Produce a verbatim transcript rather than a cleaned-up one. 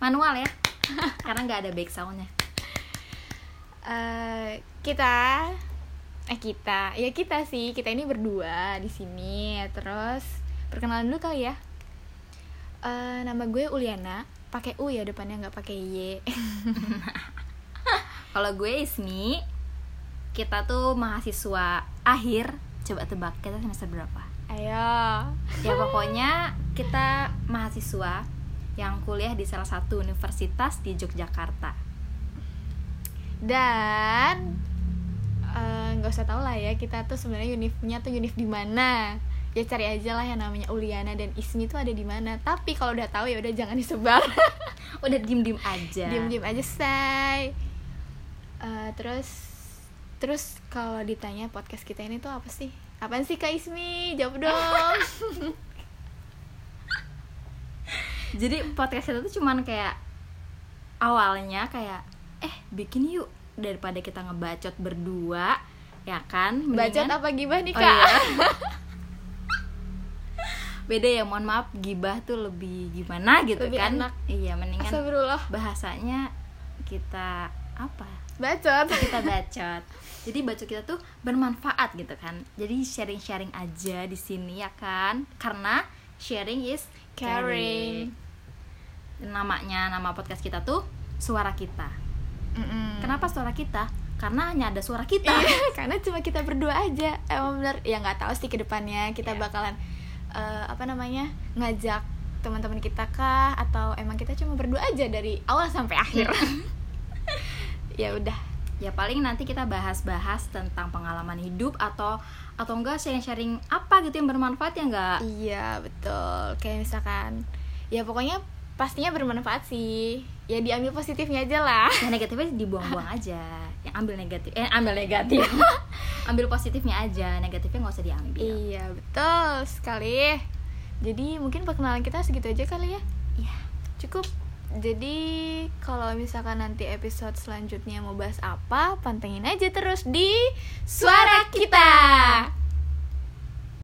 manual ya. Karena nggak ada back soundnya. uh, kita eh kita ya kita sih kita ini berdua di sini. Terus perkenalan dulu kali ya. Uh, nama gue Uliana, pakai U ya depannya, nggak pakai Y. Kalau gue Ismi, kita tuh mahasiswa akhir. Coba tebak, kita semester berapa? Ayo. Ya pokoknya kita mahasiswa yang kuliah di salah satu universitas di Yogyakarta. Dan nggak uh, usah tahu lah ya kita tuh sebenarnya univnya tuh univ di mana. Ya cari aja lah yang namanya Uliana dan Ismi tuh ada di mana. Tapi kalau udah tahu ya udah jangan disebar. Udah diem-diem aja. Diem-diem aja, say. Uh, terus terus kalau ditanya podcast kita ini tuh apa sih? Apaan sih Kak Ismi? Jawab dong. Jadi podcast kita tuh cuman kayak awalnya kayak eh bikin yuk daripada kita ngebacot berdua, ya kan? Mendingan... Bacot apa gibah nih Kak? Oh, iya. Beda ya, mohon maaf, gibah tuh lebih gimana gitu lebih kan? Enak. Iya, mendingan Astagfirullah. Bahasanya kita apa? Bacot. Kita bacot. Jadi bacot kita tuh bermanfaat gitu kan. Jadi sharing-sharing aja di sini ya kan? Karena sharing is caring. Namanya, nama podcast kita tuh Suara Kita. Mm-mm. Kenapa suara kita? Karena hanya ada suara kita. Iya, karena cuma kita berdua aja. Emang bener, ya nggak tahu sih ke depannya kita yeah. bakalan uh, apa namanya ngajak teman-teman kita kah, atau emang kita cuma berdua aja dari awal sampai akhir. Ya udah. Ya paling nanti kita bahas-bahas tentang pengalaman hidup atau atau enggak sharing-sharing apa gitu yang bermanfaat ya enggak? Iya betul. Kayak misalkan ya pokoknya pastinya bermanfaat sih. Ya diambil positifnya aja lah. Yang negatifnya dibuang-buang aja. Yang ambil negatif eh ambil negatif. Ambil positifnya aja, negatifnya nggak usah diambil. Iya betul sekali. Jadi mungkin perkenalan kita segitu aja kali ya. Iya, cukup. Jadi kalau misalkan nanti episode selanjutnya mau bahas apa, pantengin aja terus di Suara Kita.